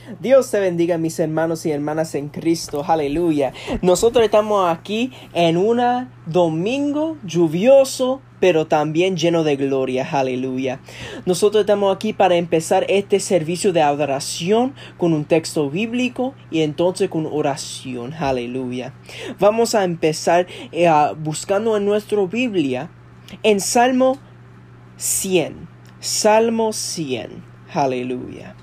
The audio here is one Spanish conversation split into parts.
Dios te bendiga, mis hermanos y hermanas en Cristo, aleluya. Nosotros estamos aquí en un domingo lluvioso, pero también lleno de gloria, aleluya. Nosotros estamos aquí para empezar este servicio de adoración con un texto bíblico y entonces con oración, aleluya. Vamos a empezar buscando en nuestra Biblia en Salmo 100, aleluya.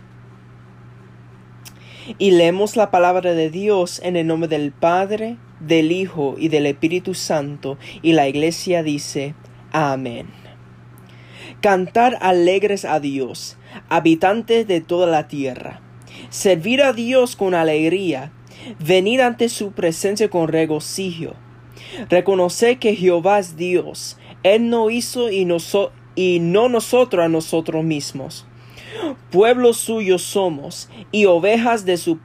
Y leemos la palabra de Dios en el nombre del Padre, del Hijo y del Espíritu Santo, y la iglesia dice, amén. Cantar alegres a Dios, habitantes de toda la tierra. Servir a Dios con alegría, venir ante su presencia con regocijo. Reconocer que Jehová es Dios, Él nos hizo y no nosotros a nosotros mismos. Pueblo suyo somos, y ovejas de su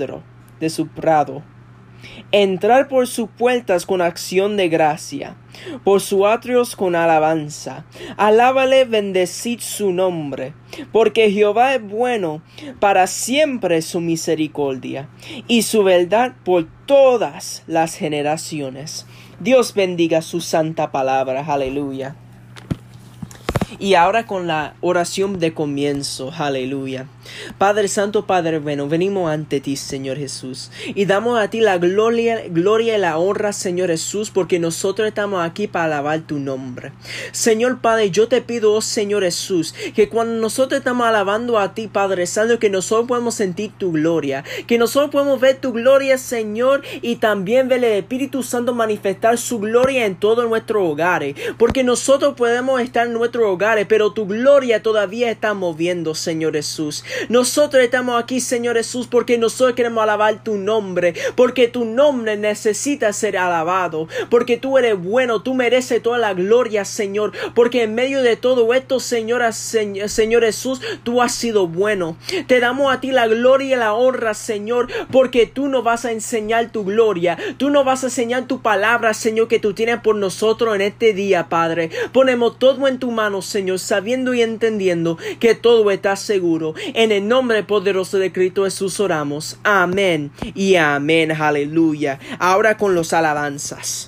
prado. Entrar por sus puertas con acción de gracia, por sus atrios con alabanza. Alábale, bendecid su nombre, porque Jehová es bueno, para siempre su misericordia, y su verdad por todas las generaciones. Dios bendiga su santa palabra, aleluya. Y ahora con la oración de comienzo, aleluya. Padre Santo, Padre bueno, venimos ante ti, Señor Jesús, y damos a ti la gloria y la honra, Señor Jesús, porque nosotros estamos aquí para alabar tu nombre. Señor Padre, yo te pido, oh Señor Jesús, que cuando nosotros estamos alabando a ti, Padre Santo, que nosotros podemos sentir tu gloria, que nosotros podemos ver tu gloria, Señor, y también ver el Espíritu Santo manifestar su gloria en todos nuestros hogares, porque nosotros podemos estar en nuestros hogares, pero tu gloria todavía está moviendo, Señor Jesús. Nosotros estamos aquí, Señor Jesús, porque nosotros queremos alabar tu nombre, porque tu nombre necesita ser alabado, porque tú eres bueno, tú mereces toda la gloria, Señor, porque en medio de todo esto, Señor Jesús, tú has sido bueno. Te damos a ti la gloria y la honra, Señor, porque tú nos vas a enseñar tu gloria, tú nos vas a enseñar tu palabra, Señor, que tú tienes por nosotros en este día, Padre. Ponemos todo en tu mano, Señor, sabiendo y entendiendo que todo está seguro. En el nombre poderoso de Cristo Jesús oramos. Amén y amén. Aleluya. Ahora con los alabanzas.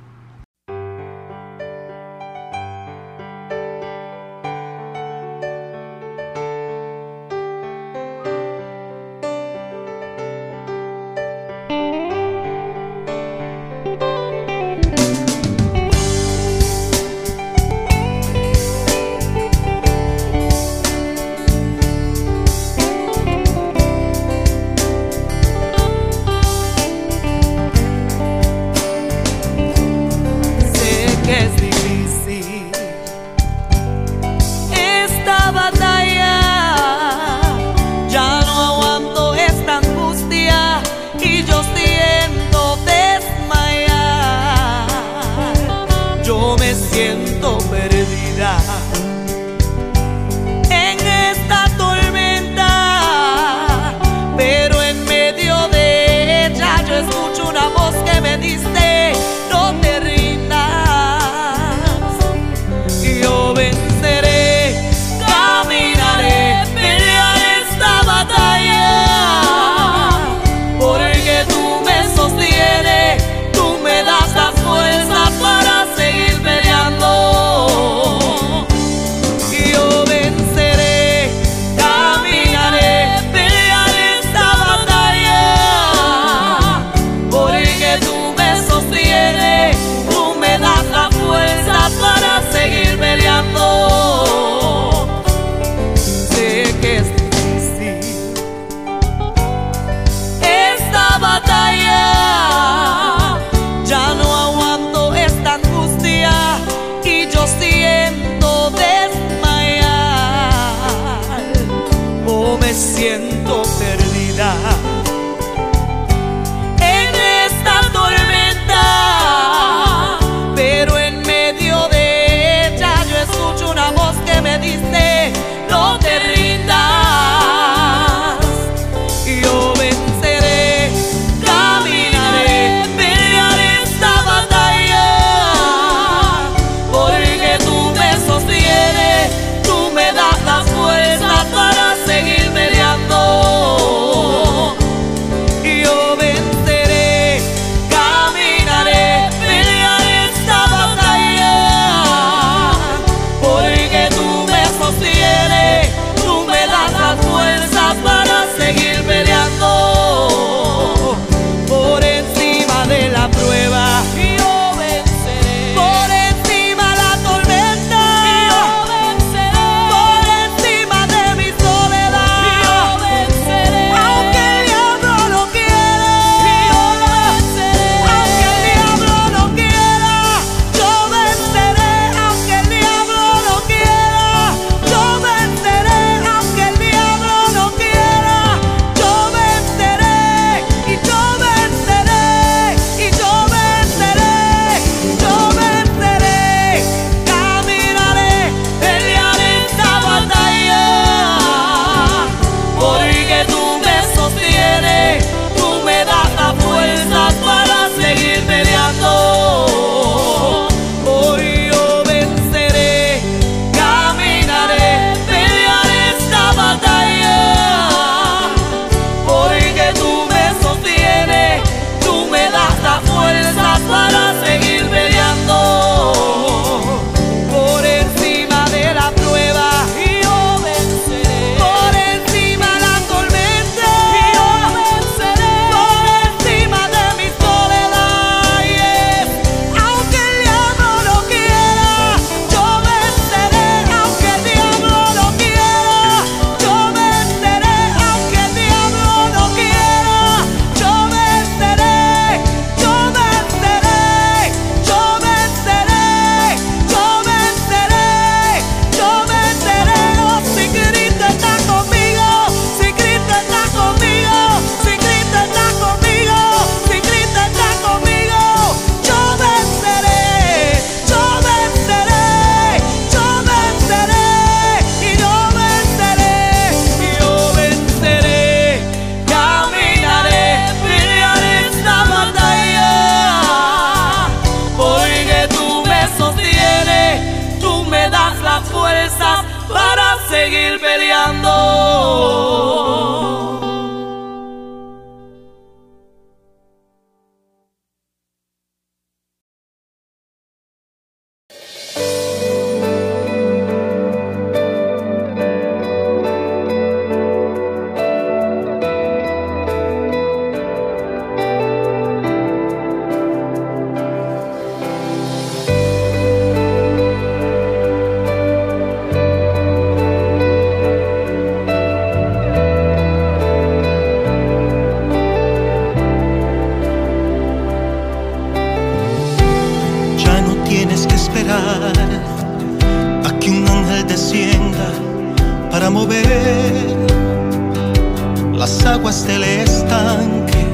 Siento perdida en esta tormenta, pero en medio de ella yo escucho una voz que me dice: no te rindas, yo venceré, caminaré, pelearé esta batalla, porque tú me sostienes, tú me das las fuerzas para seguir peleando. Yo venceré, caminaré, pelearé esta batalla, porque tú me sostienes, tú me das la fuerza para seguir peleando. Sé que es difícil esta batalla, ya no aguanto esta angustia y yo siento desmayar, o me siento perdida en esta tormenta, pero en medio de ella yo escucho una voz que me dice: no te rindas, yo venceré, caminaré, pelearé esta batalla, porque tú me sostienes, tú me das las fuerzas para seguir peleando. aguas del estanque.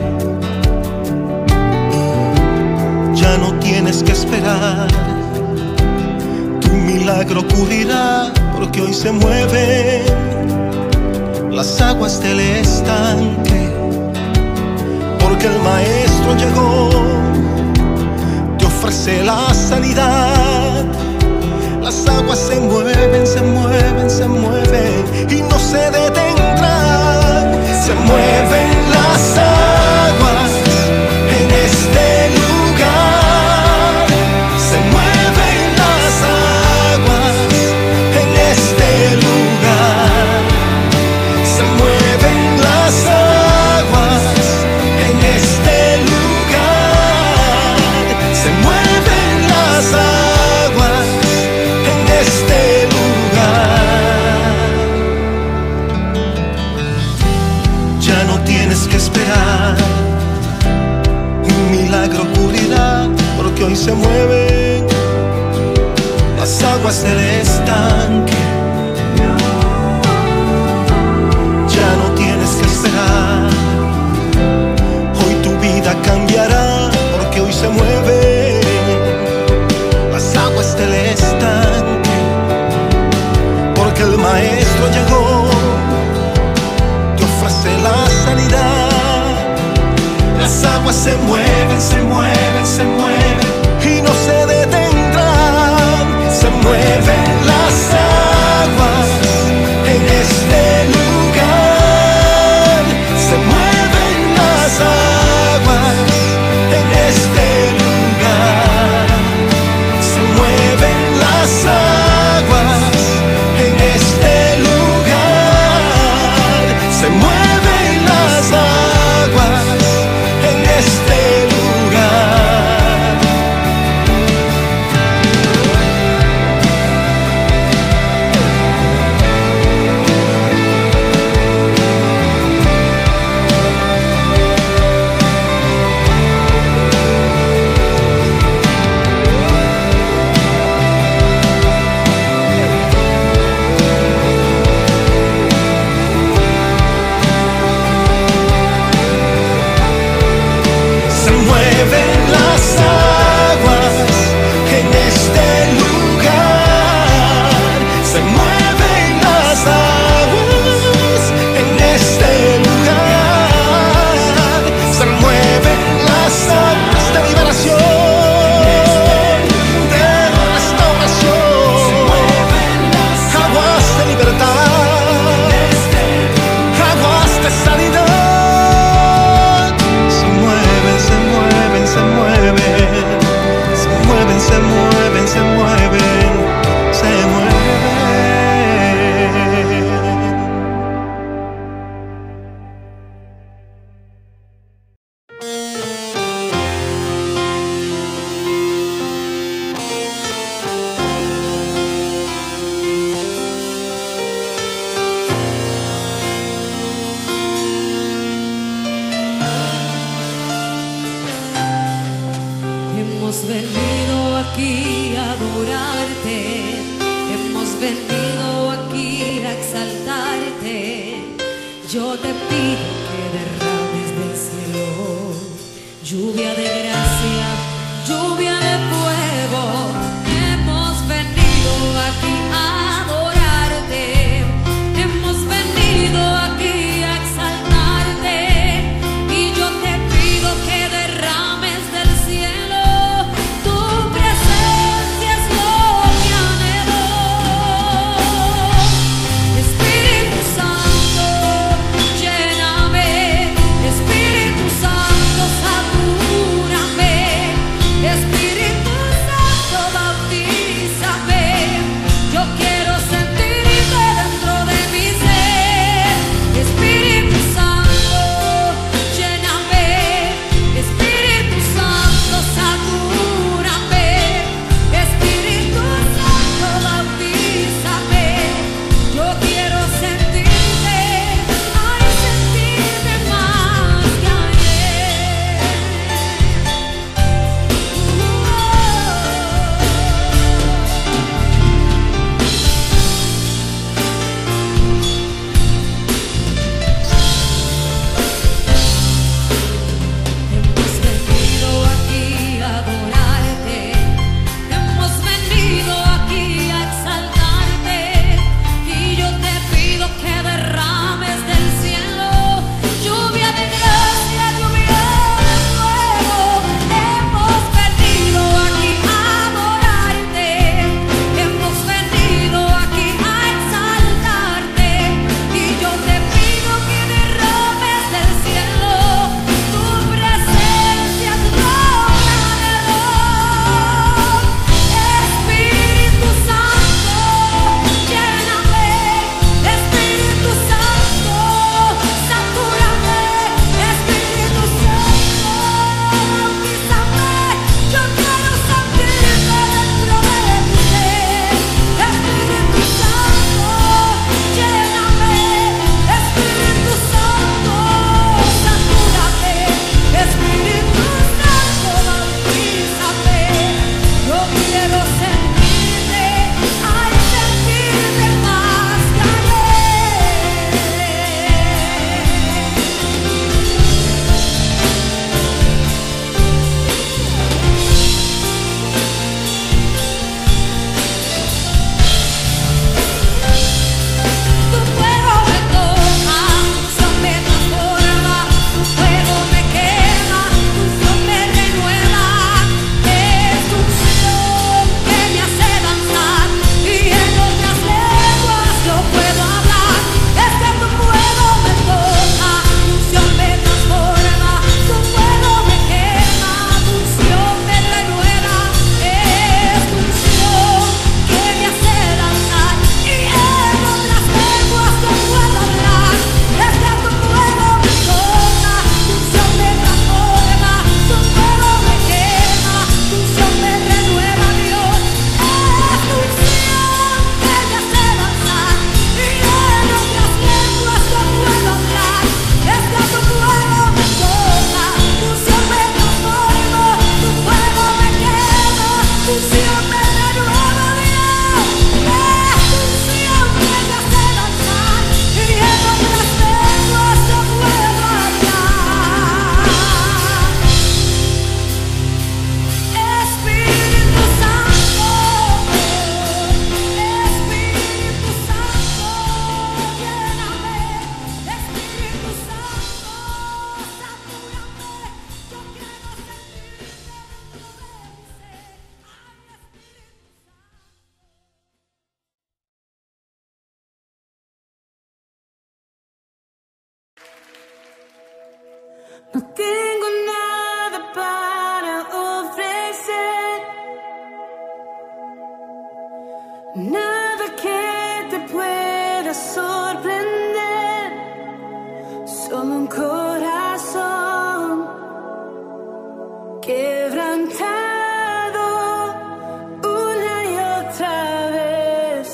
Ya no tienes que esperar, tu milagro ocurrirá, porque hoy se mueven las aguas del estanque. Porque el Maestro llegó, te ofrece la sanidad. Las aguas se mueven, se mueven, se mueven y no se detendrán. Se mueven las aguas en este lugar. Se mueven las aguas en este lugar. Se mueven las aguas en este lugar. Se mueven las aguas en este lugar. Ya no tienes que esperar, un milagro ocurrirá, porque hoy se mueven las aguas del estanque. Ya no tienes que esperar, hoy tu vida cambiará, porque hoy se mueven las aguas del estanque. Porque el Maestro llegó, te ofrece la sanidad. Las aguas se mueven, se mueven, se mueven y no se detendrán. Se mueven las aguas en este lugar. Se mueven las aguas en este lugar. Se mueven las aguas en este lugar. Se mueven las aguas en este lugar. Se mueven las aguas en este lugar. Se mueven las aguas en este lugar. Se mueven las aguas de liberación, de restauración, aguas de libertad, aguas de sanidad. Se mueven, se mueven, se mueven, se mueven, se mueven, se mueven, se mueven. Hemos venido aquí a adorarte, hemos venido aquí a exaltarte. Yo te pido que derrames del cielo lluvia de gracia, lluvia de fuego. Hemos venido aquí a adorarte, hemos venido aquí a exaltarte. Y yo te pido que derrames del cielo, tu presencia es lo que anhelo. Espíritu Santo, lléname, Espíritu Santo, satúrame, Espíritu Santo, bautízame. Yo No tengo nada para ofrecer, nada que te pueda sorprender, solo un corazón quebrantado una y otra vez.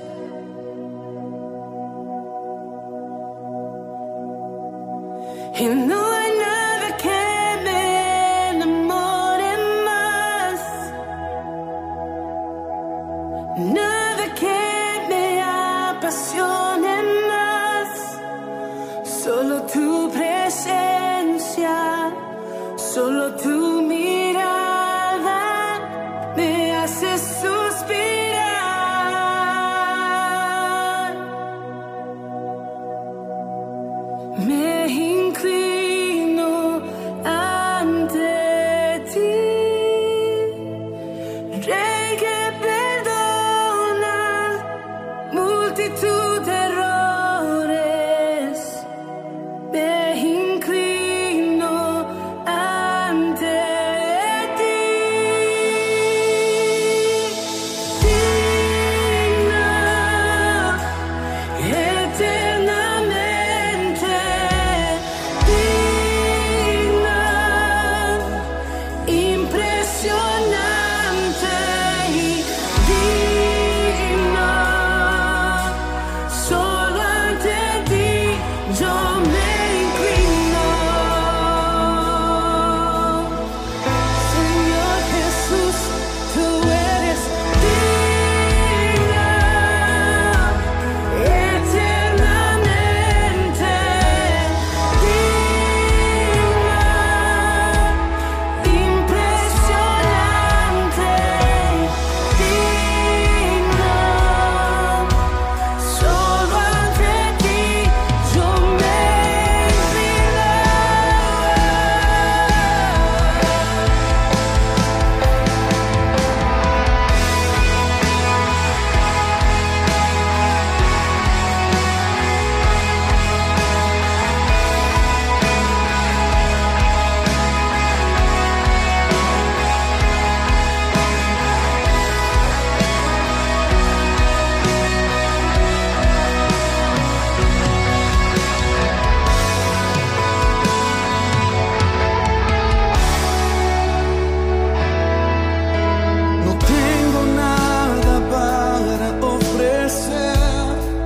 Y no hay nada que me enamore más, nada que me apasione más, solo tu presencia, solo tu mirada me hace suspirar. Me inclino ante ti, Rey que perdona multitud de errores. Me inclino ante ti, digna eternamente, digna, impresionante y digna. Solo ante ti yo me inclino. Señor Jesús, tú eres digna eternamente, digna, impresionante, digna. Solo ante ti yo me inclino. No tengo nada para ofrecer,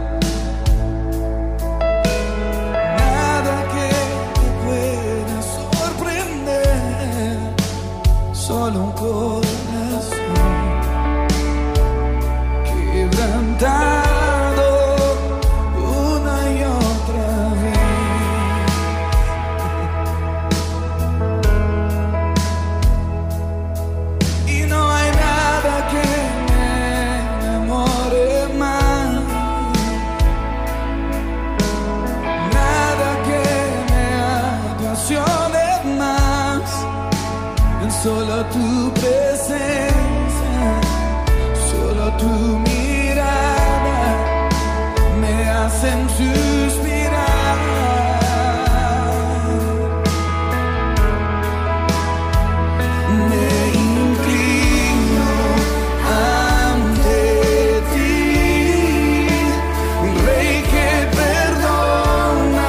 nada que te pueda sorprender, solo un corazón quebrantado una y otra vez. Y no hay nada que me enamore más, nada que me apasione más, solo tu presencia, solo tu mirada me hacen suspirar. Me inclino ante ti, Rey que perdona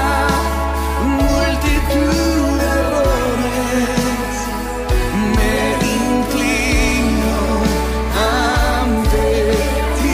multitud de errores. Me inclino ante ti,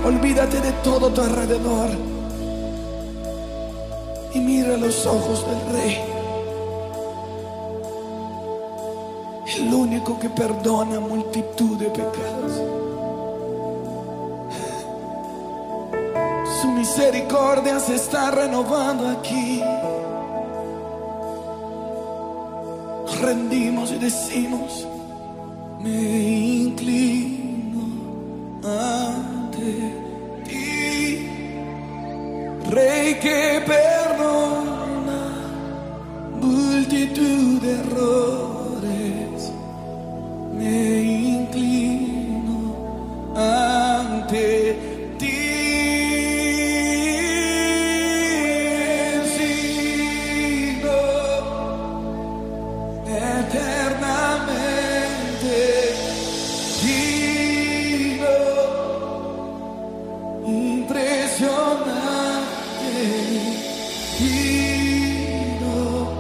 Olvídate de todo tu alrededor y mira los ojos del Rey, el único que perdona multitud de pecados. Su misericordia se está renovando aquí. Nos rendimos y decimos: me inclino ante ti, Rey que perdona multitud de errores. Me inclino ante ti. Sigo eternamente digno, impresionante, digno,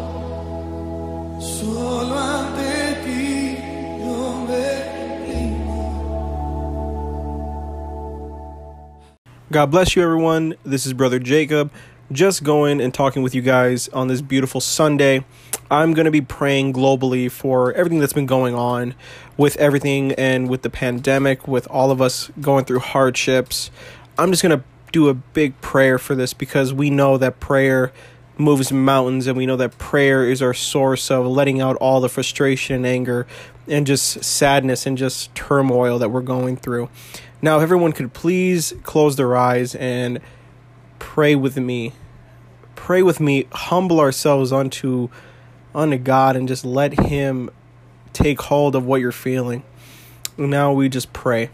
solo ante ti yo me inclino. God bless you, everyone. This is Brother Jacob, just going and talking with you guys on this beautiful Sunday. I'm going to be praying globally for everything that's been going on with everything and with the pandemic, with all of us going through hardships. I'm just going to do a big prayer for this because we know that prayer moves mountains, and we know that prayer is our source of letting out all the frustration and anger and just sadness and just turmoil that we're going through. Now, if everyone could please close their eyes and pray with me. Pray with me, humble ourselves unto God and just let Him take hold of what you're feeling. Now we just pray.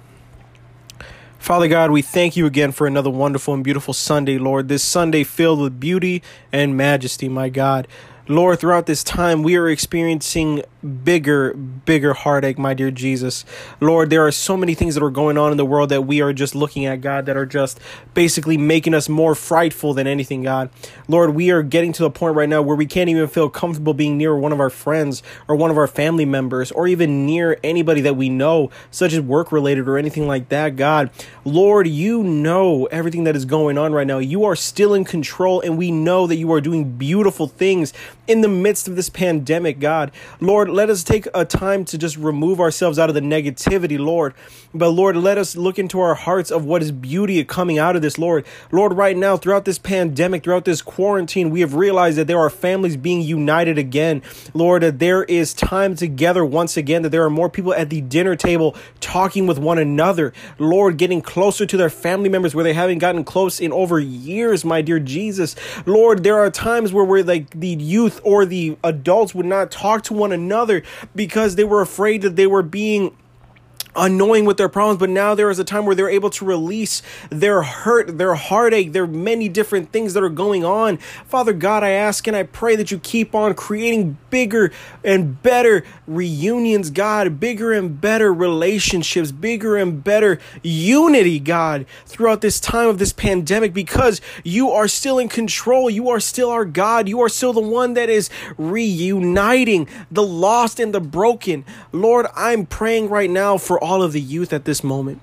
Father God, we thank you again for another wonderful and beautiful Sunday, Lord. This Sunday filled with beauty and majesty, my God. Lord, throughout this time, we are experiencing bigger heartache, my dear Jesus. Lord, there are so many things that are going on in the world that we are just looking at, God, that are just basically making us more frightful than anything, God. Lord, we are getting to the point right now where we can't even feel comfortable being near one of our friends or one of our family members or even near anybody that we know, such as work-related or anything like that, God. Lord, you know everything that is going on right now. You are still in control, and we know that you are doing beautiful things in the midst of this pandemic, God. Lord, let us take a time to just remove ourselves out of the negativity, Lord. But Lord, let us look into our hearts of what is beauty coming out of this, Lord. Lord, right now, throughout this pandemic, throughout this quarantine, we have realized that there are families being united again. Lord, that there is time together once again, that there are more people at the dinner table talking with one another. Lord, getting closer to their family members where they haven't gotten close in over years, my dear Jesus. Lord, there are times where we're like the youth or the adults would not talk to one another because they were afraid that they were being annoying with their problems, but now there is a time where they're able to release their hurt, their heartache, their many different things that are going on. Father God, I ask and I pray that you keep on creating bigger and better reunions, God, bigger and better relationships, bigger and better unity, God, throughout this time of this pandemic, because you are still in control. You are still our God. You are still the one that is reuniting the lost and the broken. Lord, I'm praying right now for all of the youth at this moment.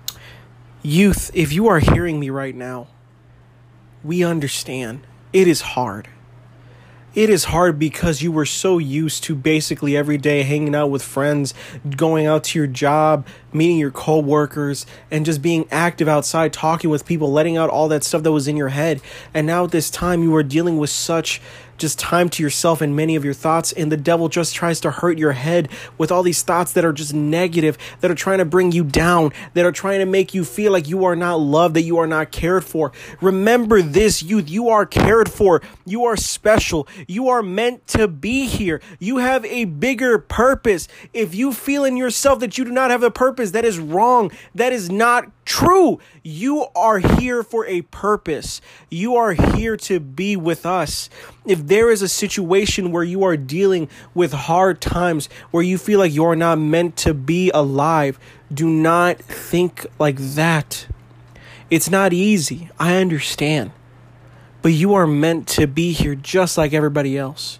Youth, if you are hearing me right now, we understand it is hard. It is hard because you were so used to basically every day hanging out with friends, going out to your job, meeting your co-workers, and just being active outside, talking with people, letting out all that stuff that was in your head. And now at this time, you are dealing with such just time to yourself and many of your thoughts, and the devil just tries to hurt your head with all these thoughts that are just negative, that are trying to bring you down, that are trying to make you feel like you are not loved, that you are not cared for. Remember this, youth, you are cared for, you are special, you are meant to be here, you have a bigger purpose. If you feel in yourself that you do not have a purpose, that is wrong, that is not true. You are here for a purpose. You are here to be with us. If there is a situation where you are dealing with hard times, where you feel like you're not meant to be alive, do not think like that. It's not easy. I understand. But you are meant to be here just like everybody else.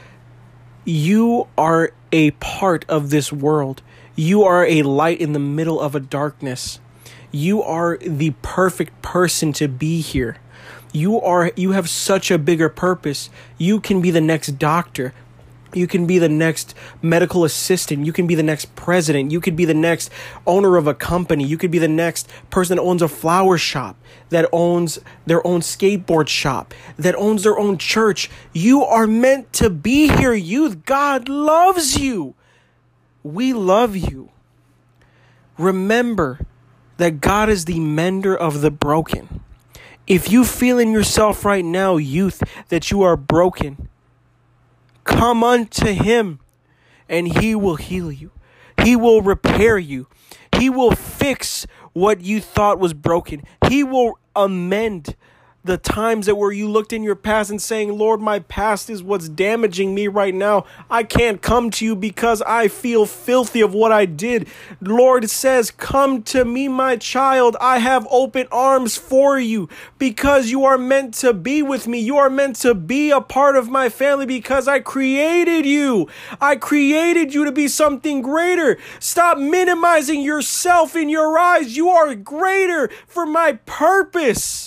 You are a part of this world. You are a light in the middle of a darkness. You are the perfect person to be here. You have such a bigger purpose. You can be the next doctor. You can be the next medical assistant. You can be the next president. You could be the next owner of a company. You could be the next person that owns a flower shop, that owns their own skateboard shop, that owns their own church. You are meant to be here, youth. God loves you. We love you. Remember that God is the mender of the broken. If you feel in yourself right now, youth, that you are broken, come unto him and he will heal you. He will repair you. He will fix what you thought was broken. He will amend the times that where you looked in your past and saying, Lord, my past is what's damaging me right now. I can't come to you because I feel filthy of what I did. Lord says, come to me, my child. I have open arms for you because you are meant to be with me. You are meant to be a part of my family because I created you. I created you to be something greater. Stop minimizing yourself in your eyes. You are greater for my purpose.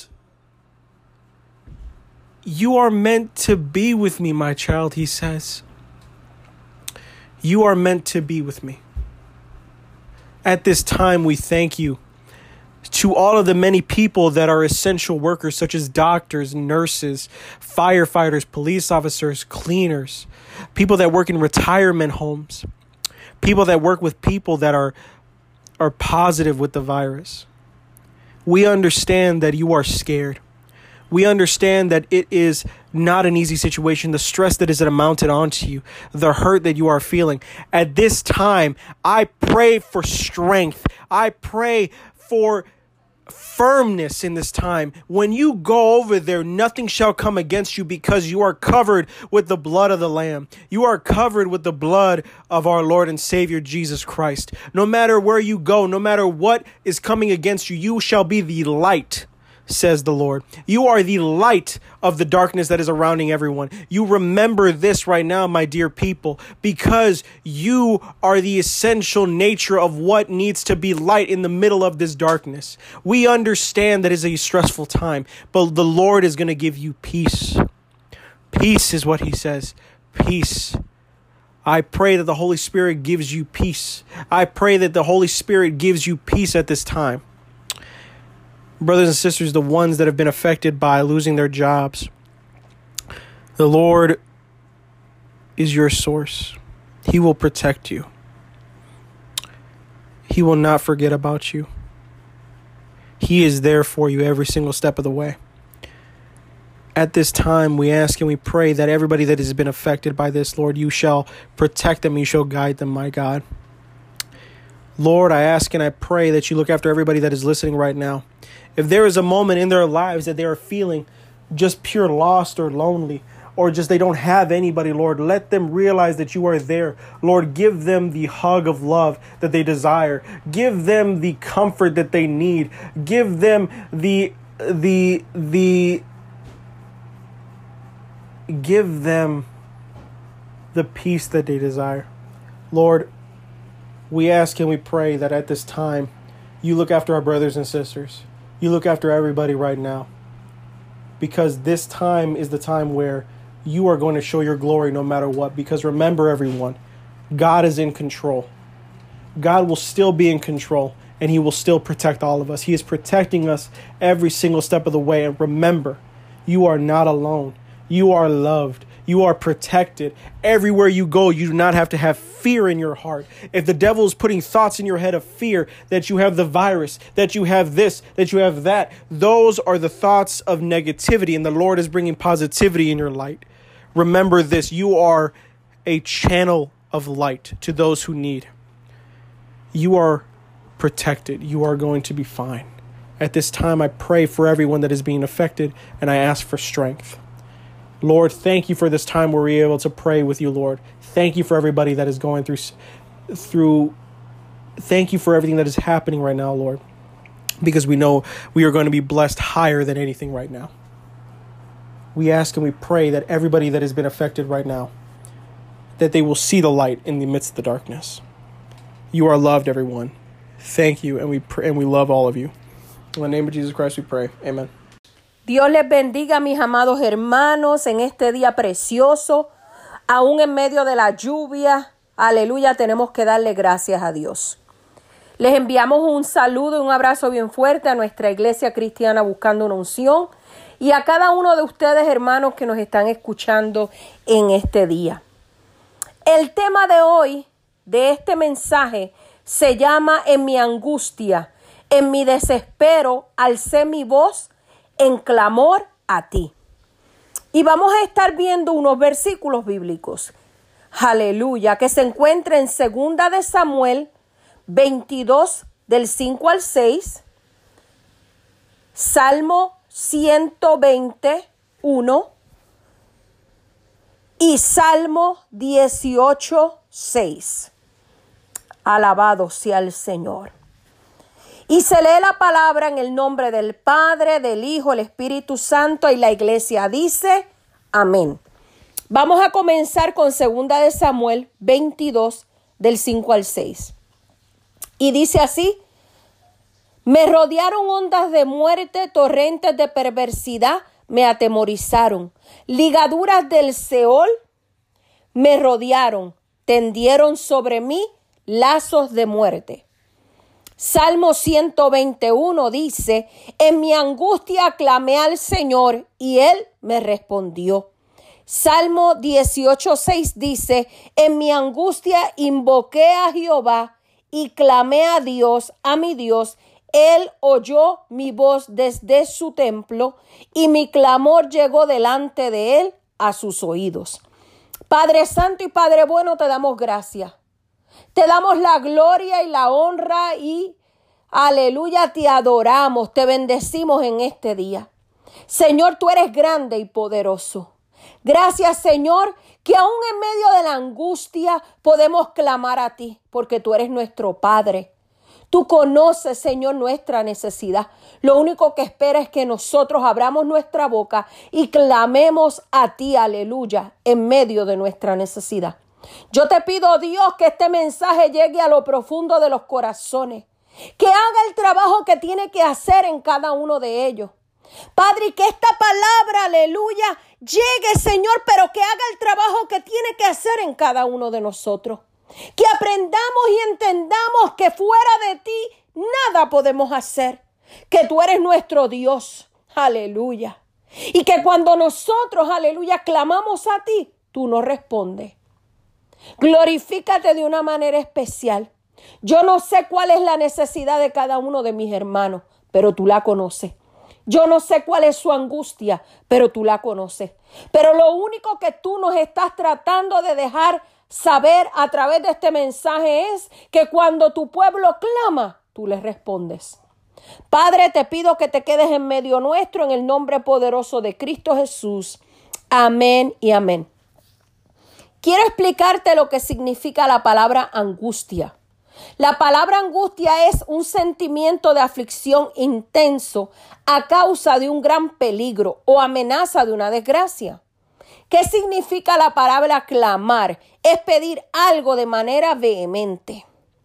You are meant to be with me, my child, he says. You are meant to be with me. At this time, we thank you to all of the many people that are essential workers, such as doctors, nurses, firefighters, police officers, cleaners, people that work in retirement homes, people that work with people that are positive with the virus. We understand that you are scared. We understand that it is not an easy situation, the stress that is mounted onto you, the hurt that you are feeling. At this time, I pray for strength. I pray for firmness in this time. When you go over there, nothing shall come against you because you are covered with the blood of the Lamb. You are covered with the blood of our Lord and Savior, Jesus Christ. No matter where you go, no matter what is coming against you, you shall be the light, says the Lord. You are the light of the darkness that is surrounding everyone. You remember this right now, my dear people, because you are the essential nature of what needs to be light in the middle of this darkness. We understand that it's a stressful time, but the Lord is going to give you peace. Peace is what he says. Peace. I pray that the Holy Spirit gives you peace. I pray that the Holy Spirit gives you peace at this time. Brothers and sisters, the ones that have been affected by losing their jobs, the Lord is your source. He will protect you. He will not forget about you. He is there for you every single step of the way. At this time, we ask and we pray that everybody that has been affected by this, Lord, you shall protect them, you shall guide them, my God. Lord, I ask and I pray that you look after everybody that is listening right now. If there is a moment in their lives that they are feeling just pure lost or lonely, or just they don't have anybody, Lord, let them realize that you are there. Lord, give them the hug of love that they desire. Give them the comfort that they need. Give them give them the peace that they desire. Lord, we ask and we pray that at this time, you look after our brothers and sisters. You look after everybody right now. Because this time is the time where you are going to show your glory no matter what. Because remember, everyone, God is in control. God will still be in control. And he will still protect all of us. He is protecting us every single step of the way. And remember, you are not alone. You are loved. You are protected. Everywhere you go, you do not have to have fear in your heart. If the devil is putting thoughts in your head of fear, that you have the virus, that you have this, that you have that, those are the thoughts of negativity, and the Lord is bringing positivity in your light. Remember this, you are a channel of light to those who need. You are protected. You are going to be fine. At this time, I pray for everyone that is being affected, and I ask for strength. Lord, thank you for this time where we're able to pray with you, Lord. Thank you for everybody that is going through. Thank you for everything that is happening right now, Lord, because we know we are going to be blessed higher than anything right now. We ask and we pray that everybody that has been affected right now, that they will see the light in the midst of the darkness. You are loved, everyone. Thank you, and we love all of you. In the name of Jesus Christ we pray. Amen. Dios les bendiga, mis amados hermanos, en este día precioso, aún en medio de la lluvia. Aleluya, tenemos que darle gracias a Dios. Les enviamos un saludo y un abrazo bien fuerte a nuestra iglesia cristiana Buscando una Unción y a cada uno de ustedes, hermanos, que nos están escuchando en este día. El tema de hoy, de este mensaje, se llama En mi angustia, en mi desespero, alcé mi voz en clamor a ti. Y vamos a estar viendo unos versículos bíblicos. Aleluya, que se encuentra en 2 de Samuel 22, del 5 al 6, Salmo 121 y Salmo 18, 6. Alabado sea el Señor. Y se lee la palabra en el nombre del Padre, del Hijo, el Espíritu Santo, y la iglesia dice, amén. Vamos a comenzar con 2 de Samuel 22, del 5 al 6. Y dice así: me rodearon ondas de muerte, torrentes de perversidad me atemorizaron. Ligaduras del Seol me rodearon, tendieron sobre mí lazos de muerte. Salmo 121 dice: en mi angustia clamé al Señor y Él me respondió. Salmo 18:6 dice: en mi angustia invoqué a Jehová y clamé a Dios, a mi Dios. Él oyó mi voz desde su templo y mi clamor llegó delante de Él a sus oídos. Padre Santo y Padre bueno, te damos gracias. Te damos la gloria y la honra y aleluya, te adoramos, te bendecimos en este día. Señor, tú eres grande y poderoso. Gracias, Señor, que aún en medio de la angustia podemos clamar a ti, porque tú eres nuestro Padre. Tú conoces, Señor, nuestra necesidad. Lo único que espera es que nosotros abramos nuestra boca y clamemos a ti, aleluya, en medio de nuestra necesidad. Yo te pido, Dios, que este mensaje llegue a lo profundo de los corazones, que haga el trabajo que tiene que hacer en cada uno de ellos. Padre, y que esta palabra, aleluya, llegue, Señor, pero que haga el trabajo que tiene que hacer en cada uno de nosotros. Que aprendamos y entendamos que fuera de ti nada podemos hacer, que tú eres nuestro Dios, aleluya. Y que cuando nosotros, aleluya, clamamos a ti, tú nos respondes. Glorifícate de una manera especial. Yo no sé cuál es la necesidad de cada uno de mis hermanos, pero tú la conoces. Yo no sé cuál es su angustia, pero tú la conoces. Pero lo único que tú nos estás tratando de dejar saber a través de este mensaje es que cuando tu pueblo clama, tú les respondes. Padre, te pido que te quedes en medio nuestro en el nombre poderoso de Cristo Jesús. Amén y amén. Quiero explicarte lo que significa la palabra angustia. La palabra angustia es un sentimiento de aflicción intenso a causa de un gran peligro o amenaza de una desgracia. ¿Qué significa la palabra clamar? Es pedir algo de manera vehemente.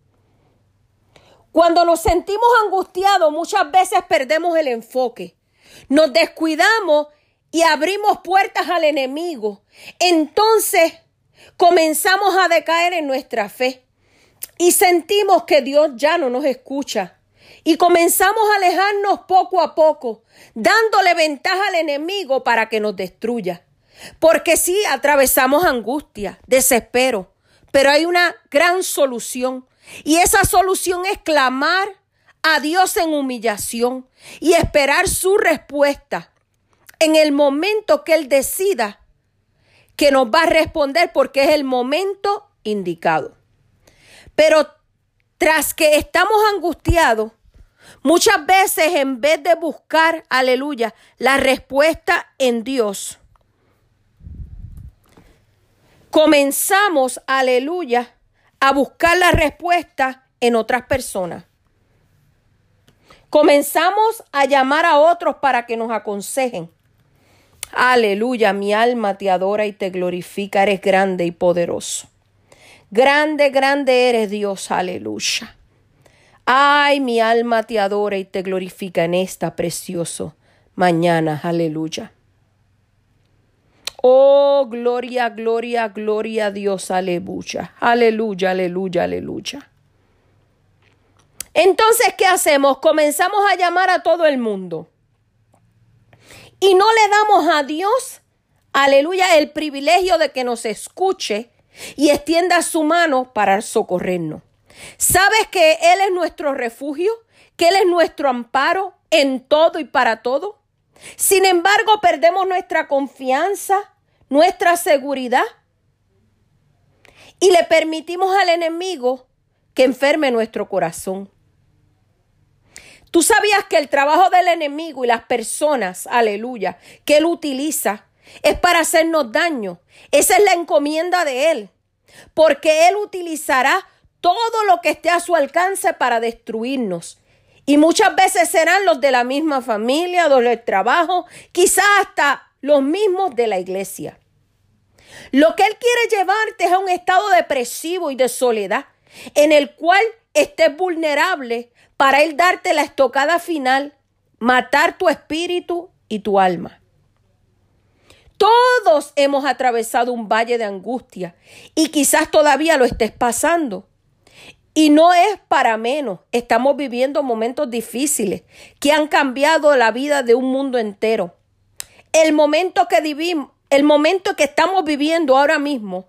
Cuando nos sentimos angustiados, muchas veces perdemos el enfoque. Nos descuidamos y abrimos puertas al enemigo. Entonces comenzamos a decaer en nuestra fe y sentimos que Dios ya no nos escucha. Y comenzamos a alejarnos poco a poco, dándole ventaja al enemigo para que nos destruya. Porque sí, atravesamos angustia, desespero, pero hay una gran solución. Y esa solución es clamar a Dios en humillación y esperar su respuesta en el momento que Él decida que nos va a responder, porque es el momento indicado. Pero tras que estamos angustiados, muchas veces en vez de buscar, aleluya, la respuesta en Dios, comenzamos, aleluya, a buscar la respuesta en otras personas. Comenzamos a llamar a otros para que nos aconsejen. Aleluya, mi alma te adora y te glorifica. Eres grande y poderoso. Grande, grande eres Dios, aleluya. Ay, mi alma te adora y te glorifica en esta preciosa mañana. Aleluya. Oh, gloria, gloria, gloria a Dios. Aleluya. Aleluya, aleluya, aleluya. Entonces, ¿qué hacemos? Comenzamos a llamar a todo el mundo. Y no le damos a Dios, aleluya, el privilegio de que nos escuche y extienda su mano para socorrernos. ¿Sabes que Él es nuestro refugio? ¿Que Él es nuestro amparo en todo y para todo? Sin embargo, perdemos nuestra confianza, nuestra seguridad y le permitimos al enemigo que enferme nuestro corazón. ¿Tú sabías que el trabajo del enemigo y las personas, aleluya, que él utiliza es para hacernos daño? Esa es la encomienda de él, porque él utilizará todo lo que esté a su alcance para destruirnos. Y muchas veces serán los de la misma familia, los del trabajo, quizás hasta los mismos de la iglesia. Lo que él quiere llevarte es a un estado depresivo y de soledad, en el cual estés vulnerable para él darte la estocada final, matar tu espíritu y tu alma. Todos hemos atravesado un valle de angustia y quizás todavía lo estés pasando. Y no es para menos, estamos viviendo momentos difíciles que han cambiado la vida de un mundo entero. El momento que vivimos, el momento que estamos viviendo ahora mismo,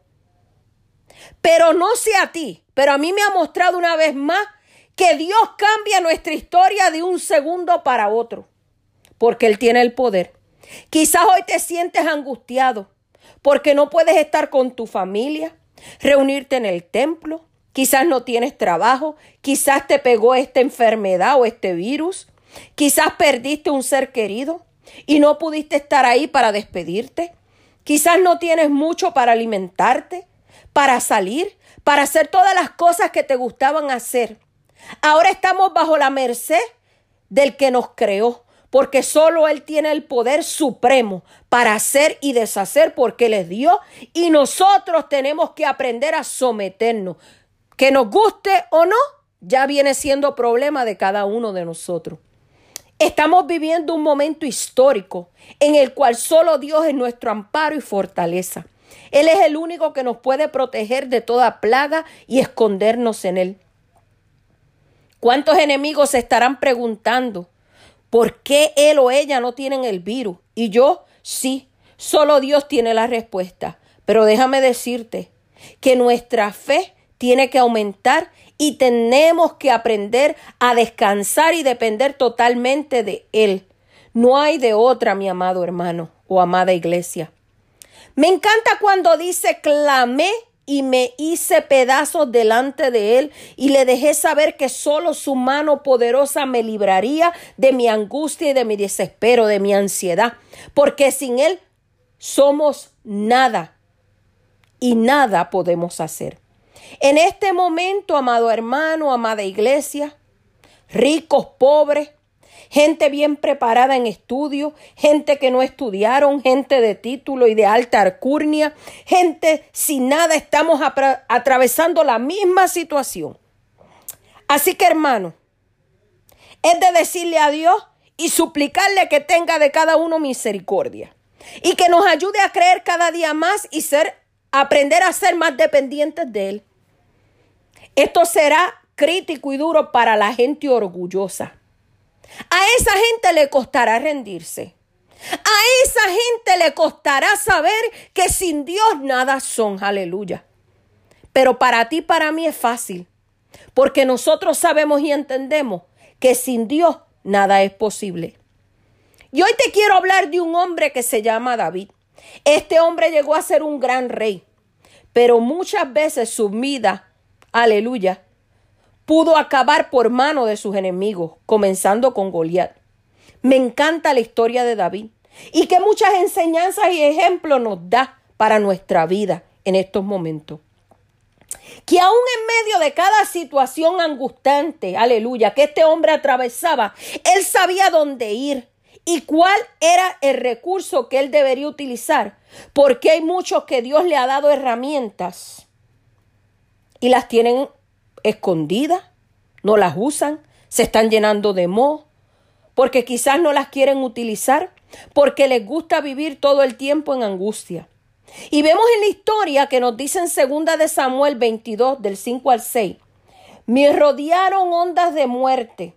pero no sé a ti, pero a mí me ha mostrado una vez más que Dios cambia nuestra historia de un segundo para otro, porque Él tiene el poder. Quizás hoy te sientes angustiado porque no puedes estar con tu familia, reunirte en el templo. Quizás no tienes trabajo, quizás te pegó esta enfermedad o este virus, quizás perdiste un ser querido y no pudiste estar ahí para despedirte. Quizás no tienes mucho para alimentarte, para salir, para hacer todas las cosas que te gustaban hacer. Ahora estamos bajo la merced del que nos creó, porque solo Él tiene el poder supremo para hacer y deshacer, porque Él es Dios y nosotros tenemos que aprender a someternos. Que nos guste o no, ya viene siendo problema de cada uno de nosotros. Estamos viviendo un momento histórico en el cual solo Dios es nuestro amparo y fortaleza. Él es el único que nos puede proteger de toda plaga y escondernos en Él. ¿Cuántos enemigos se estarán preguntando por qué él o ella no tienen el virus? Y yo, sí, solo Dios tiene la respuesta. Pero déjame decirte que nuestra fe tiene que aumentar y tenemos que aprender a descansar y depender totalmente de Él. No hay de otra, mi amado hermano o amada iglesia. Me encanta cuando dice, clamé y me hice pedazos delante de Él y le dejé saber que solo su mano poderosa me libraría de mi angustia y de mi desespero, de mi ansiedad, porque sin Él somos nada y nada podemos hacer. En este momento, amado hermano, amada iglesia, ricos, pobres, gente bien preparada en estudio, gente que no estudiaron, gente de título y de alta alcurnia, gente sin nada, estamos atravesando la misma situación. Así que, hermano, es de decirle a Dios y suplicarle que tenga de cada uno misericordia y que nos ayude a creer cada día más y aprender a ser más dependientes de Él. Esto será crítico y duro para la gente orgullosa. A esa gente le costará rendirse. A esa gente le costará saber que sin Dios nada son. Aleluya. Pero para ti, para mí es fácil. Porque nosotros sabemos y entendemos que sin Dios nada es posible. Y hoy te quiero hablar de un hombre que se llama David. Este hombre llegó a ser un gran rey. Pero muchas veces su vida, aleluya, pudo acabar por mano de sus enemigos, comenzando con Goliat. Me encanta la historia de David y que muchas enseñanzas y ejemplos nos da para nuestra vida en estos momentos. Que aún en medio de cada situación angustiante, aleluya, que este hombre atravesaba, él sabía dónde ir y cuál era el recurso que él debería utilizar, porque hay muchos que Dios le ha dado herramientas y las tienen escondidas, no las usan, se están llenando de moho, porque quizás no las quieren utilizar, porque les gusta vivir todo el tiempo en angustia. Y vemos en la historia que nos dice en 2 de Samuel 22, del 5 al 6, me rodearon ondas de muerte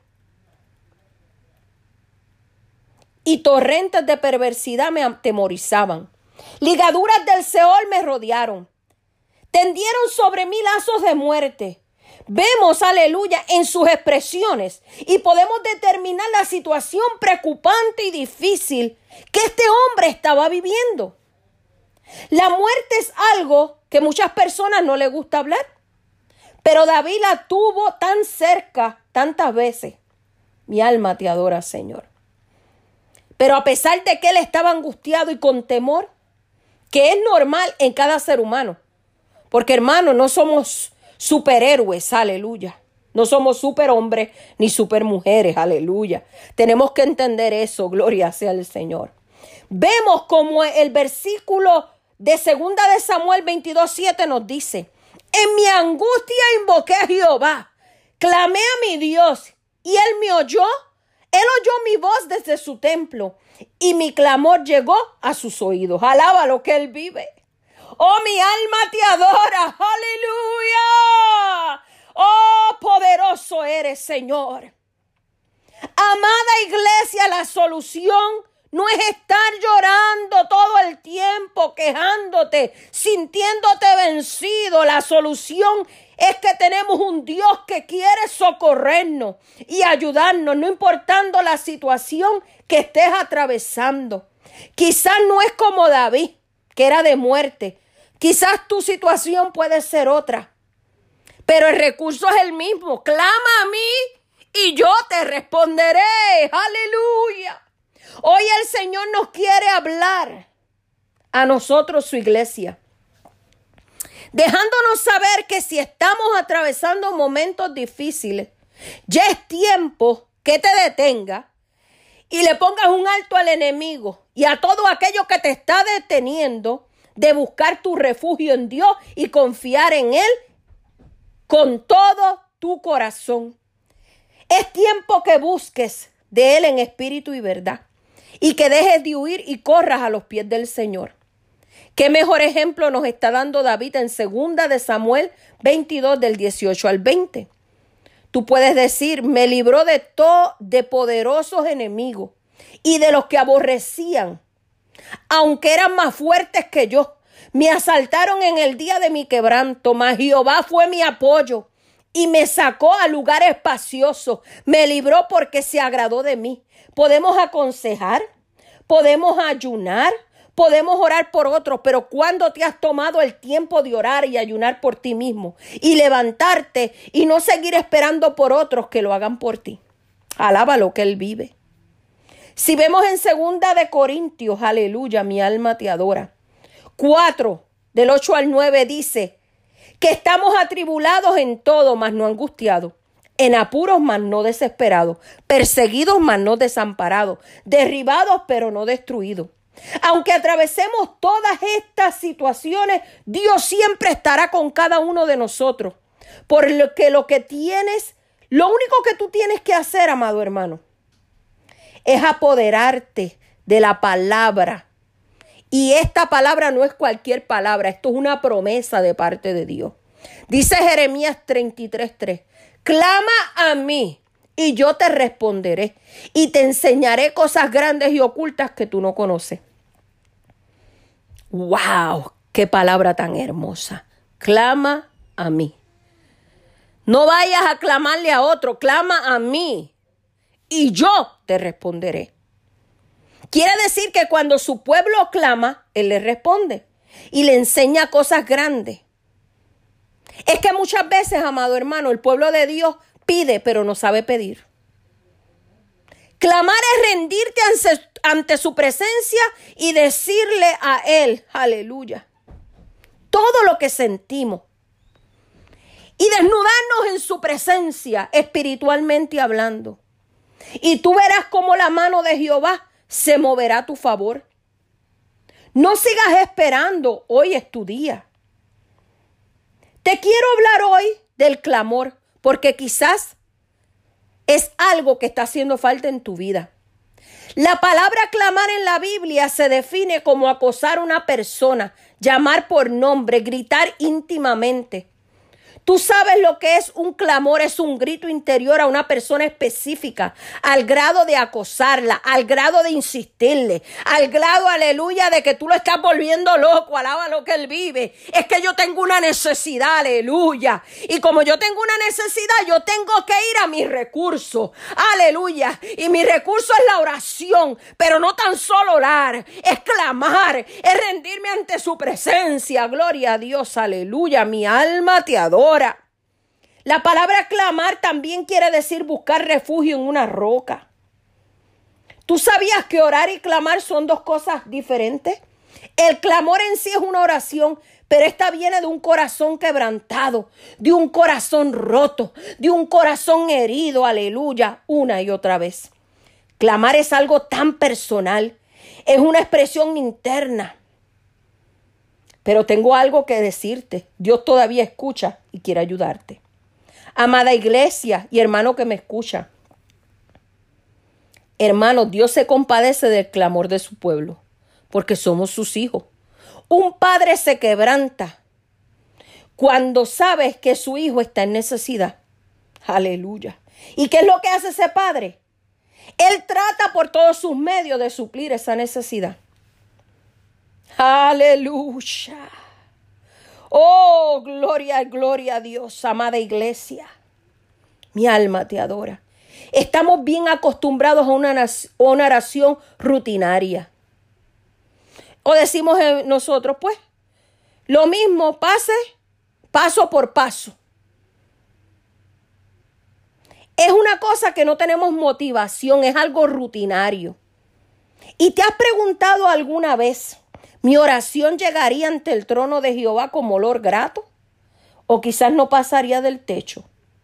y torrentes de perversidad me atemorizaban. Ligaduras del Seol me rodearon. Tendieron sobre mí lazos de muerte. Vemos, aleluya, en sus expresiones y podemos determinar la situación preocupante y difícil que este hombre estaba viviendo. La muerte es algo que muchas personas no les gusta hablar, pero David la tuvo tan cerca tantas veces. Mi alma te adora, Señor. Pero a pesar de que él estaba angustiado y con temor, que es normal en cada ser humano, porque hermano, no somos superhéroes, aleluya. No somos superhombres ni supermujeres, aleluya. Tenemos que entender eso, gloria sea al Señor. Vemos como el versículo de 2 de Samuel 22:7 nos dice, en mi angustia invoqué a Jehová, clamé a mi Dios y él me oyó. Él oyó mi voz desde su templo y mi clamor llegó a sus oídos. Alaba lo que él vive. Oh, mi alma te adora. Aleluya. Oh, poderoso eres, Señor. Amada iglesia, la solución no es estar llorando todo el tiempo, quejándote, sintiéndote vencido. La solución es que tenemos un Dios que quiere socorrernos y ayudarnos, no importando la situación que estés atravesando. Quizás no es como David, que era de muerte. Quizás tu situación puede ser otra, pero el recurso es el mismo. Clama a mí y yo te responderé. Aleluya. Hoy el Señor nos quiere hablar a nosotros, su iglesia, dejándonos saber que si estamos atravesando momentos difíciles, ya es tiempo que te detenga y le pongas un alto al enemigo y a todo aquello que te está deteniendo de buscar tu refugio en Dios y confiar en Él con todo tu corazón. Es tiempo que busques de Él en espíritu y verdad y que dejes de huir y corras a los pies del Señor. Qué mejor ejemplo nos está dando David en 2 de Samuel 22 del 18 al 20. Tú puedes decir, me libró de poderosos enemigos y de los que aborrecían, aunque eran más fuertes que yo. Me asaltaron en el día de mi quebranto, mas Jehová fue mi apoyo y me sacó a lugar espacioso. Me libró porque se agradó de mí. Podemos aconsejar, podemos ayunar, podemos orar por otros, pero ¿cuándo te has tomado el tiempo de orar y ayunar por ti mismo y levantarte y no seguir esperando por otros que lo hagan por ti? Alaba lo que Él vive. Si vemos en 2 de Corintios, aleluya, mi alma te adora, 4, del 8 al 9 dice que estamos atribulados en todo, mas no angustiados, en apuros, mas no desesperados, perseguidos, mas no desamparados, derribados, pero no destruidos. Aunque atravesemos todas estas situaciones, Dios siempre estará con cada uno de nosotros. Por lo que lo único que tú tienes que hacer, amado hermano, es apoderarte de la palabra. Y esta palabra no es cualquier palabra, esto es una promesa de parte de Dios. Dice Jeremías 33:3, clama a mí y yo te responderé y te enseñaré cosas grandes y ocultas que tú no conoces. ¡Wow! ¡Qué palabra tan hermosa! Clama a mí. No vayas a clamarle a otro, clama a mí y yo te responderé. Quiere decir que cuando su pueblo clama, Él le responde y le enseña cosas grandes. Es que muchas veces, amado hermano, el pueblo de Dios pide, pero no sabe pedir. Clamar es rendirte ante su presencia y decirle a Él, aleluya, todo lo que sentimos. Y desnudarnos en su presencia, espiritualmente hablando. Y tú verás cómo la mano de Jehová se moverá a tu favor. No sigas esperando, hoy es tu día. Te quiero hablar hoy del clamor, porque quizás es algo que está haciendo falta en tu vida. La palabra clamar en la Biblia se define como acosar a una persona, llamar por nombre, gritar íntimamente. Tú sabes lo que es un clamor, es un grito interior a una persona específica, al grado de acosarla, al grado de insistirle, al grado, aleluya, de que tú lo estás volviendo loco, alaba lo que él vive. Es que yo tengo una necesidad, aleluya. Y como yo tengo una necesidad, yo tengo que ir a mis recursos, aleluya. Y mi recurso es la oración, pero no tan solo orar, es clamar, es rendirme ante su presencia. Gloria a Dios, aleluya, mi alma te adora. La palabra clamar también quiere decir buscar refugio en una roca. ¿Tú sabías que orar y clamar son dos cosas diferentes? El clamor en sí es una oración, pero esta viene de un corazón quebrantado, de un corazón roto, de un corazón herido, aleluya, una y otra vez. Clamar es algo tan personal, es una expresión interna. Pero tengo algo que decirte. Dios todavía escucha y quiere ayudarte. Amada iglesia y hermano que me escucha. Hermano, Dios se compadece del clamor de su pueblo, porque somos sus hijos. Un padre se quebranta cuando sabe que su hijo está en necesidad. Aleluya. ¿Y qué es lo que hace ese padre? Él trata por todos sus medios de suplir esa necesidad. Aleluya. Oh, gloria, gloria a Dios, amada iglesia. Mi alma te adora. Estamos bien acostumbrados a una oración rutinaria. O decimos nosotros, pues, lo mismo, paso por paso. Es una cosa que no tenemos motivación, es algo rutinario. ¿Y te has preguntado alguna vez, mi oración llegaría ante el trono de Jehová como olor grato? ¿O quizás no pasaría del techo?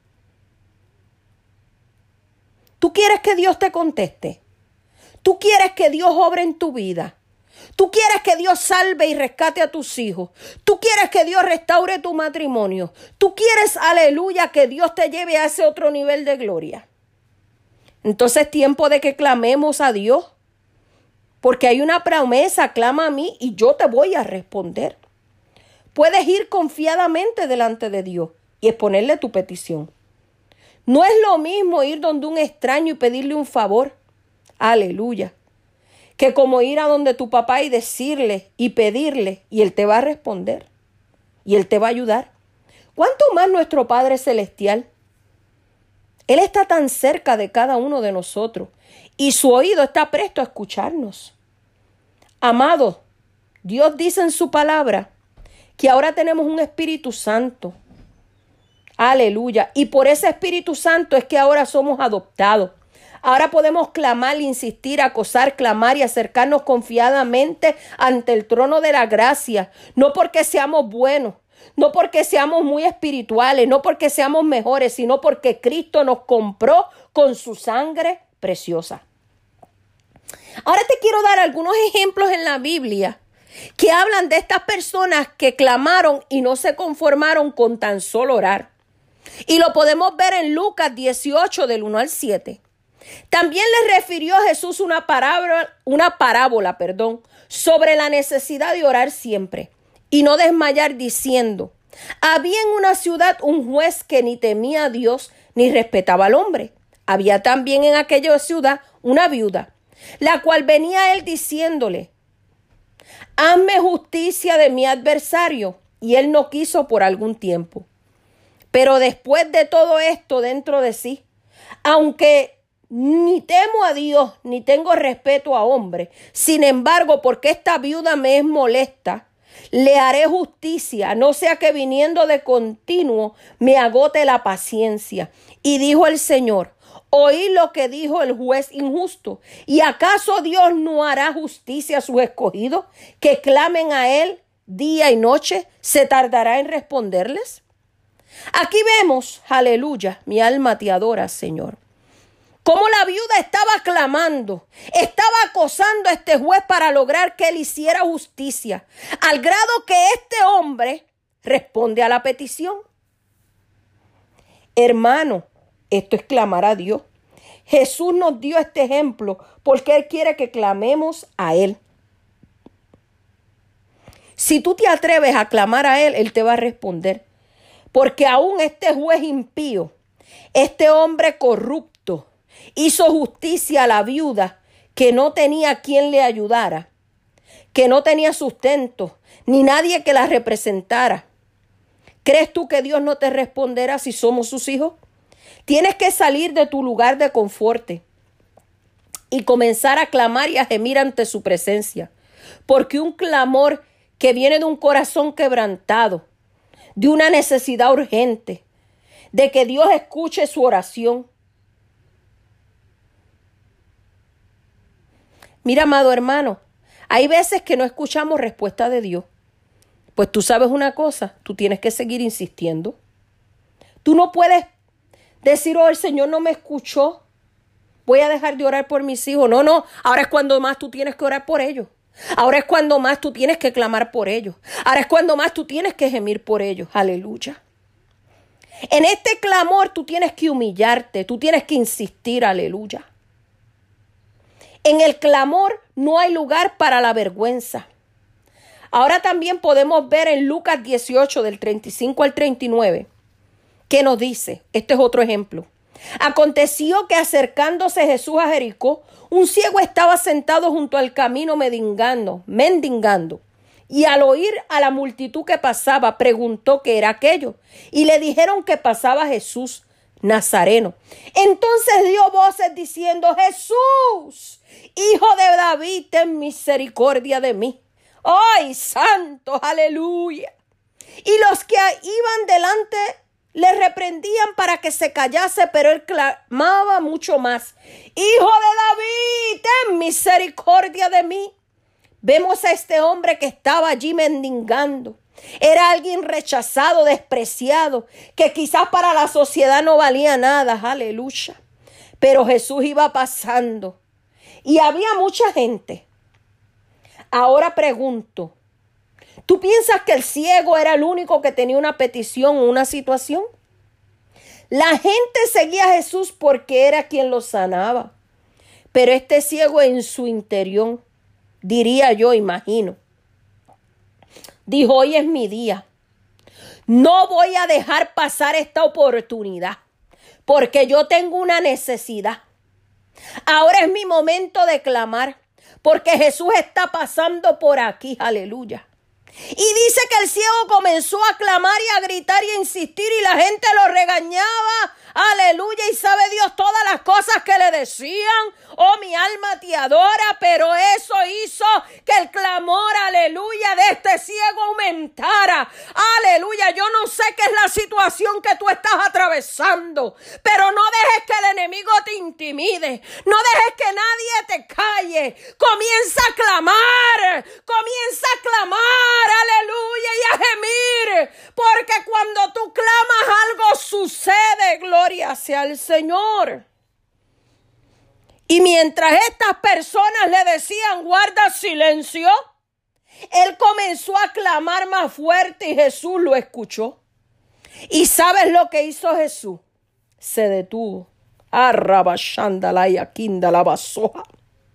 ¿Tú quieres que Dios te conteste? ¿Tú quieres que Dios obre en tu vida? ¿Tú quieres que Dios salve y rescate a tus hijos? ¿Tú quieres que Dios restaure tu matrimonio? ¿Tú quieres, aleluya, que Dios te lleve a ese otro nivel de gloria? Entonces es tiempo de que clamemos a Dios. Porque hay una promesa, clama a mí y yo te voy a responder. Puedes ir confiadamente delante de Dios y exponerle tu petición. No es lo mismo ir donde un extraño y pedirle un favor. Aleluya. Que como ir a donde tu papá y decirle y pedirle y él te va a responder. Y él te va a ayudar. ¿Cuánto más nuestro Padre Celestial? Él está tan cerca de cada uno de nosotros y su oído está presto a escucharnos. Amados, Dios dice en su palabra que ahora tenemos un Espíritu Santo. Aleluya. Y por ese Espíritu Santo es que ahora somos adoptados. Ahora podemos clamar, insistir, acosar, clamar y acercarnos confiadamente ante el trono de la gracia. No porque seamos buenos, no porque seamos muy espirituales, no porque seamos mejores, sino porque Cristo nos compró con su sangre preciosa. Ahora te quiero dar algunos ejemplos en la Biblia que hablan de estas personas que clamaron y no se conformaron con tan solo orar. Y lo podemos ver en Lucas 18 del 1 al 7. También les refirió a Jesús una parábola, sobre la necesidad de orar siempre y no desmayar, diciendo: había en una ciudad un juez que ni temía a Dios ni respetaba al hombre. Había también en aquella ciudad una viuda, la cual venía a él diciéndole: hazme justicia de mi adversario. Y él no quiso por algún tiempo. Pero después de todo esto dentro de sí, aunque ni temo a Dios, ni tengo respeto a hombre, sin embargo, porque esta viuda me es molesta, le haré justicia, no sea que viniendo de continuo me agote la paciencia. Y dijo el Señor: oí lo que dijo el juez injusto. ¿Y acaso Dios no hará justicia a sus escogidos, que clamen a él día y noche? ¿Se tardará en responderles? Aquí vemos, aleluya, mi alma te adora, Señor, cómo la viuda estaba clamando, estaba acosando a este juez para lograr que él hiciera justicia, al grado que este hombre responde a la petición. Hermano, esto es clamar a Dios. Jesús nos dio este ejemplo porque Él quiere que clamemos a Él. Si tú te atreves a clamar a Él, Él te va a responder. Porque aún este juez impío, este hombre corrupto, hizo justicia a la viuda que no tenía quien le ayudara, que no tenía sustento, ni nadie que la representara. ¿Crees tú que Dios no te responderá si somos sus hijos? Tienes que salir de tu lugar de confort y comenzar a clamar y a gemir ante su presencia. Porque un clamor que viene de un corazón quebrantado, de una necesidad urgente, de que Dios escuche su oración. Mira, amado hermano, hay veces que no escuchamos respuesta de Dios. Pues tú sabes una cosa, tú tienes que seguir insistiendo. Tú no puedes decir, oh, el Señor no me escuchó, voy a dejar de orar por mis hijos. No, ahora es cuando más tú tienes que orar por ellos. Ahora es cuando más tú tienes que clamar por ellos. Ahora es cuando más tú tienes que gemir por ellos. Aleluya. En este clamor tú tienes que humillarte, tú tienes que insistir. Aleluya. En el clamor no hay lugar para la vergüenza. Ahora también podemos ver en Lucas 18 del 35 al 39 que nos dice, este es otro ejemplo. Aconteció que acercándose Jesús a Jericó, un ciego estaba sentado junto al camino mendigando. Y al oír a la multitud que pasaba, preguntó qué era aquello. Y le dijeron que pasaba Jesús Nazareno. Entonces dio voces diciendo, Jesús, Hijo de David, ten misericordia de mí. ¡Ay, santo! ¡Aleluya! Y los que iban delante le reprendían para que se callase, pero él clamaba mucho más. Hijo de David, ten misericordia de mí. Vemos a este hombre que estaba allí mendigando. Era alguien rechazado, despreciado, que quizás para la sociedad no valía nada. Aleluya. Pero Jesús iba pasando y había mucha gente. Ahora pregunto, ¿tú piensas que el ciego era el único que tenía una petición o una situación? La gente seguía a Jesús porque era quien lo sanaba. Pero este ciego en su interior, diría yo, imagino, dijo, hoy es mi día. No voy a dejar pasar esta oportunidad porque yo tengo una necesidad. Ahora es mi momento de clamar porque Jesús está pasando por aquí. Aleluya. Y dice que el ciego comenzó a clamar y a gritar y a insistir y la gente lo regañaba. Aleluya. Y sabe Dios todas las cosas que le decían. Oh, mi alma te adora. Pero eso hizo que el clamor, aleluya, de este ciego aumentara. Aleluya. Yo no sé qué es la situación que tú estás atravesando. Pero no dejes que el enemigo te intimide. No dejes que nadie te calle. Comienza a clamar. Comienza a clamar. Aleluya. Y a gemir. Porque cuando tú clamas algo sucede. Gloria sea el Señor. Y mientras estas personas le decían, guarda silencio, él comenzó a clamar más fuerte y Jesús lo escuchó. ¿Y sabes lo que hizo Jesús? Se detuvo. Arrabashándala y aquinda la basoja.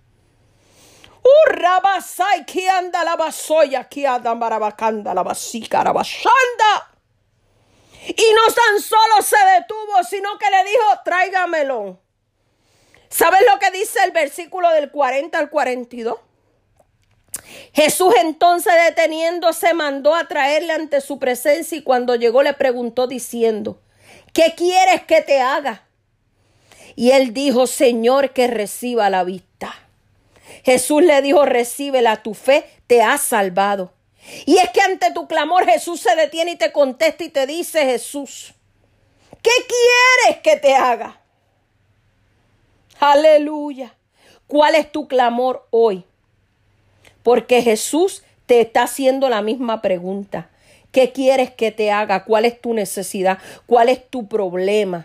Rabasai que anda la basoya, que anda marabacanda la basica, arabashanda. Y no tan solo se detuvo, sino que le dijo, tráigamelo. ¿Sabes lo que dice el versículo del 40 al 42? Jesús entonces deteniéndose mandó a traerle ante su presencia y cuando llegó le preguntó diciendo, ¿qué quieres que te haga? Y él dijo, Señor, que reciba la vista. Jesús le dijo, recíbela, tu fe te ha salvado. Y es que ante tu clamor Jesús se detiene y te contesta y te dice, Jesús, ¿qué quieres que te haga? Aleluya. ¿Cuál es tu clamor hoy? Porque Jesús te está haciendo la misma pregunta. ¿Qué quieres que te haga? ¿Cuál es tu necesidad? ¿Cuál es tu problema?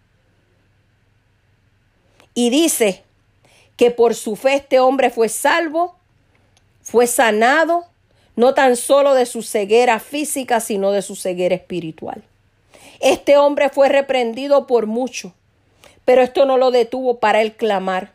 Y dice que por su fe este hombre fue salvo, fue sanado, no tan solo de su ceguera física, sino de su ceguera espiritual. Este hombre fue reprendido por mucho, Pero esto no lo detuvo para él clamar.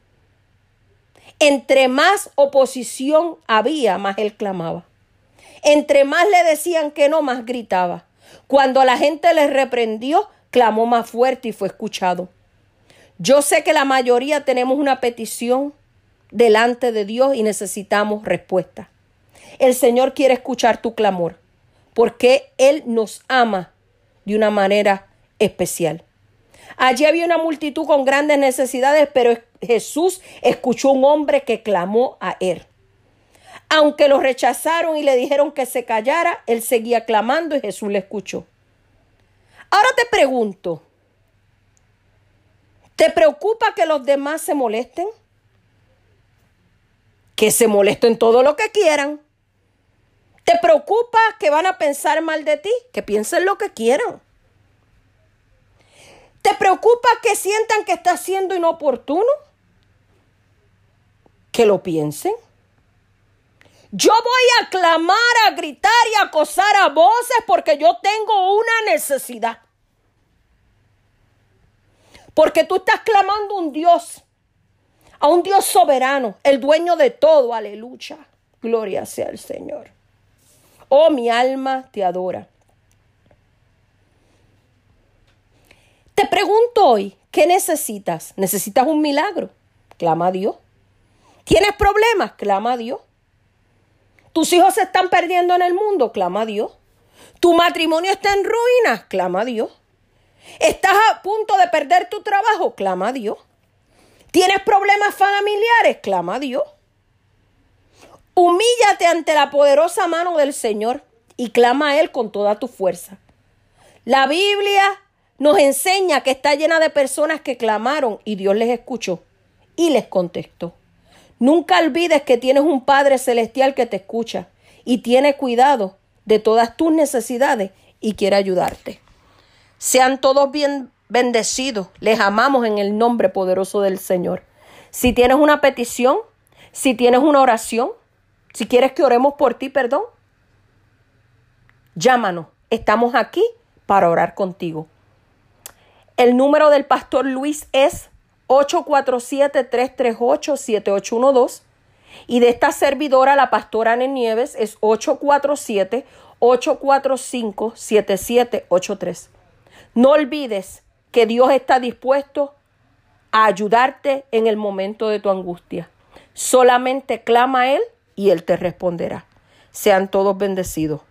Entre más oposición había, más él clamaba. Entre más le decían que no, más gritaba. Cuando la gente le reprendió, clamó más fuerte y fue escuchado. Yo sé que la mayoría tenemos una petición delante de Dios y necesitamos respuesta. El Señor quiere escuchar tu clamor porque Él nos ama de una manera especial. Allí había una multitud con grandes necesidades, pero Jesús escuchó a un hombre que clamó a Él. Aunque lo rechazaron y le dijeron que se callara, Él seguía clamando y Jesús le escuchó. Ahora te pregunto, ¿te preocupa que los demás se molesten? Que se molesten todo lo que quieran. ¿Te preocupa que van a pensar mal de ti? Que piensen lo que quieran. ¿Te preocupa que sientan que estás siendo inoportuno? Que lo piensen. Yo voy a clamar, a gritar y a acosar a voces porque yo tengo una necesidad. Porque tú estás clamando a un Dios soberano, el dueño de todo, aleluya. Gloria sea al Señor. Oh, mi alma te adora. Te pregunto hoy, ¿qué necesitas? ¿Necesitas un milagro? Clama a Dios. ¿Tienes problemas? Clama a Dios. ¿Tus hijos se están perdiendo en el mundo? Clama a Dios. ¿Tu matrimonio está en ruinas? Clama a Dios. ¿Estás a punto de perder tu trabajo? Clama a Dios. ¿Tienes problemas familiares? Clama a Dios. Humíllate ante la poderosa mano del Señor y clama a Él con toda tu fuerza. La Biblia nos enseña que está llena de personas que clamaron y Dios les escuchó y les contestó. Nunca olvides que tienes un Padre Celestial que te escucha y tiene cuidado de todas tus necesidades y quiere ayudarte. Sean todos bien bendecidos. Les amamos en el nombre poderoso del Señor. Si tienes una petición, si tienes una oración, si quieres que oremos por ti, llámanos. Estamos aquí para orar contigo. El número del pastor Luis es 847-338-7812 y de esta servidora, la pastora Ana Nieves, es 847-845-7783. No olvides que Dios está dispuesto a ayudarte en el momento de tu angustia. Solamente clama a Él y Él te responderá. Sean todos bendecidos.